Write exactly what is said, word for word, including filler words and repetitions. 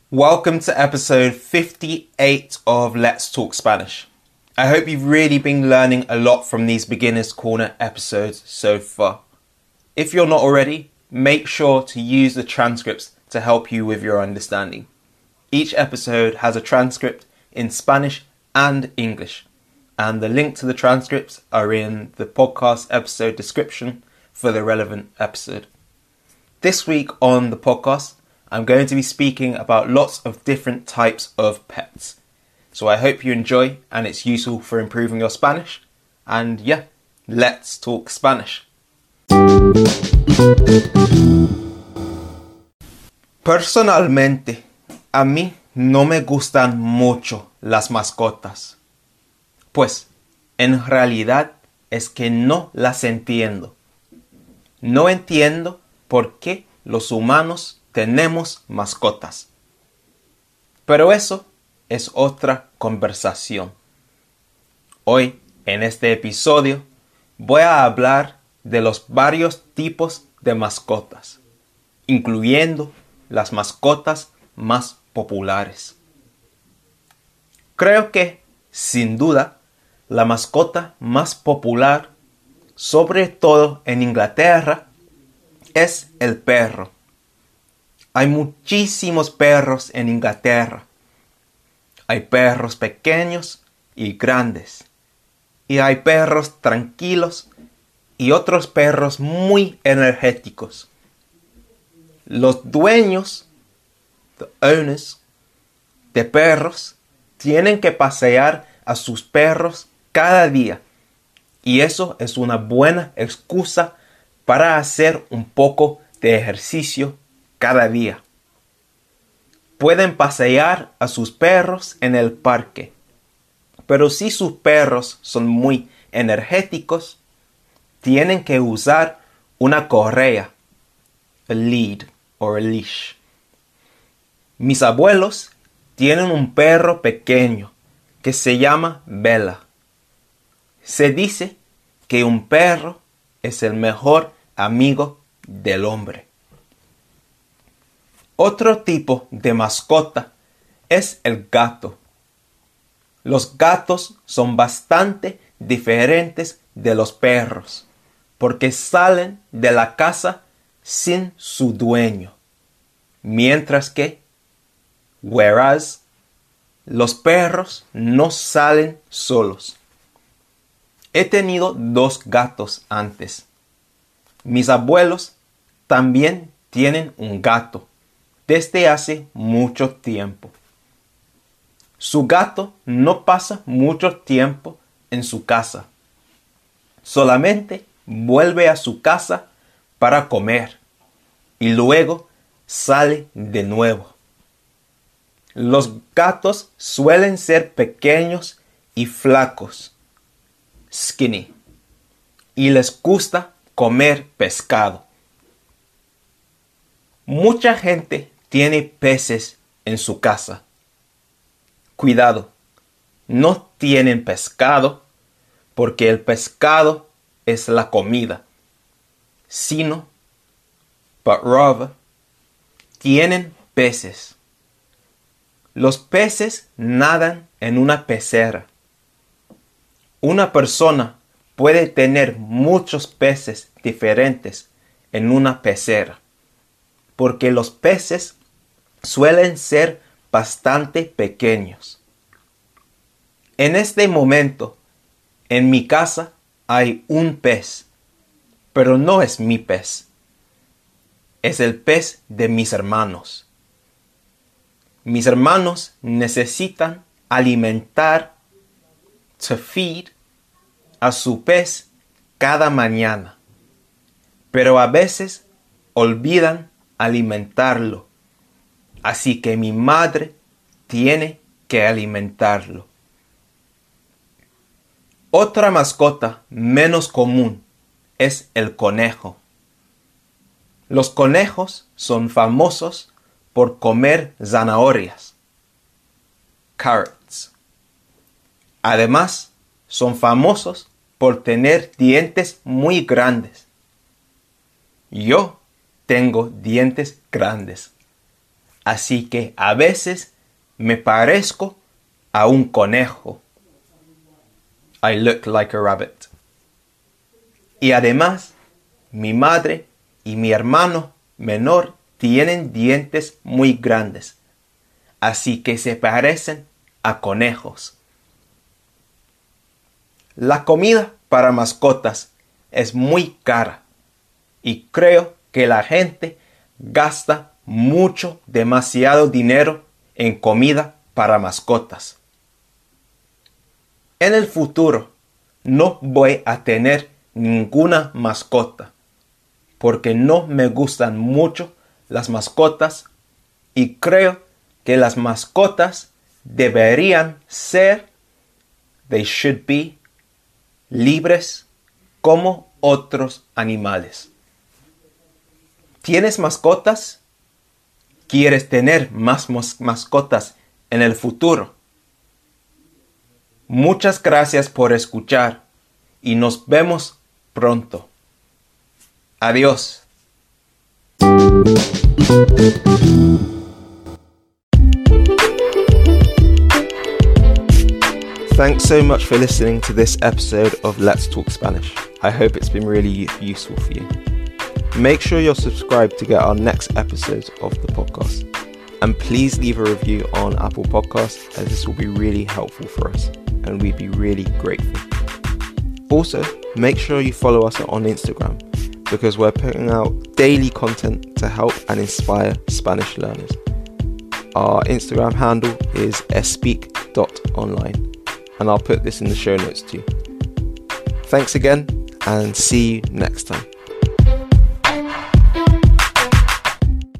Welcome to episode fifty-eight of Let's Talk Spanish. I hope you've really been learning a lot from these Beginner's Corner episodes so far. If you're not already, make sure to use the transcripts to help you with your understanding. Each episode has a transcript in Spanish and English, and the link to the transcripts are in the podcast episode description for the relevant episode. This week on the podcast, I'm going to be speaking about lots of different types of pets. So I hope you enjoy and it's useful for improving your Spanish. And yeah, let's talk Spanish. Personalmente, a mí no me gustan mucho las mascotas. Pues, en realidad es que no las entiendo. No entiendo por qué los humanos tenemos mascotas. Pero eso es otra conversación. Hoy, en este episodio, voy a hablar de los varios tipos de mascotas, incluyendo las mascotas más populares. Creo que, sin duda, la mascota más popular, sobre todo en Inglaterra, es el perro. Hay muchísimos perros en Inglaterra. Hay perros pequeños y grandes. Y hay perros tranquilos y otros perros muy energéticos. Los dueños, the owners, de perros tienen que pasear a sus perros cada día. Y eso es una buena excusa para hacer un poco de ejercicio cada día. Pueden pasear a sus perros en el parque, pero si sus perros son muy energéticos, tienen que usar una correa, a lead or a leash. Mis abuelos tienen un perro pequeño que se llama Bella. Se dice que un perro es el mejor amigo del hombre. Otro tipo de mascota es el gato. Los gatos son bastante diferentes de los perros porque salen de la casa sin su dueño. Mientras que, whereas, los perros no salen solos. He tenido dos gatos antes. Mis abuelos también tienen un gato desde hace mucho tiempo. Su gato no pasa mucho tiempo en su casa. Solamente vuelve a su casa para comer y luego sale de nuevo. Los gatos suelen ser pequeños y flacos, skinny, y les gusta comer pescado. Mucha gente tiene peces en su casa. Cuidado, no tienen pescado porque el pescado es la comida, sino, but rather, tienen peces. Los peces nadan en una pecera. Una persona puede tener muchos peces diferentes en una pecera, porque los peces suelen ser bastante pequeños. En este momento, en mi casa hay un pez, pero no es mi pez. Es el pez de mis hermanos. Mis hermanos necesitan alimentar, to feed, a su pez cada mañana, pero a veces olvidan alimentarlo. Así que mi madre tiene que alimentarlo. Otra mascota menos común es el conejo. Los conejos son famosos por comer zanahorias, carrots. Además, son famosos por tener dientes muy grandes. Yo tengo dientes grandes. así que a veces me parezco a un conejo. I look like a rabbit. Y además, mi madre y mi hermano menor tienen dientes muy grandes, así que se parecen a conejos. La comida para mascotas es muy cara y creo que la gente gasta mucho, demasiado dinero en comida para mascotas. En el futuro no voy a tener ninguna mascota porque no me gustan mucho las mascotas y creo que las mascotas deberían ser, they should be, libres como otros animales. ¿Tienes mascotas? ¿Quieres tener más mos- mascotas en el futuro? Muchas gracias por escuchar y nos vemos pronto. Adiós. Thanks so much for listening to this episode of Let's Talk Spanish. I hope it's been really useful for you. Make sure you're subscribed to get our next episodes of the podcast. And please leave a review on Apple Podcasts, as this will be really helpful for us and we'd be really grateful. Also, make sure you follow us on Instagram because we're putting out daily content to help and inspire Spanish learners. Our Instagram handle is espeak dot online and I'll put this in the show notes too. Thanks again and see you next time.